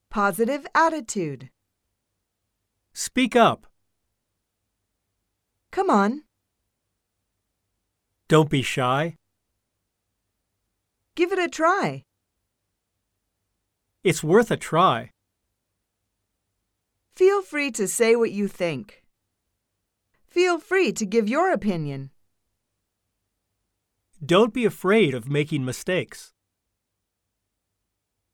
Positive attitude. Speak up. Come on. Don't be shy. Give it a try. It's worth a try. Feel free to say what you think. Feel free to give your opinion. Don't be afraid of making mistakes.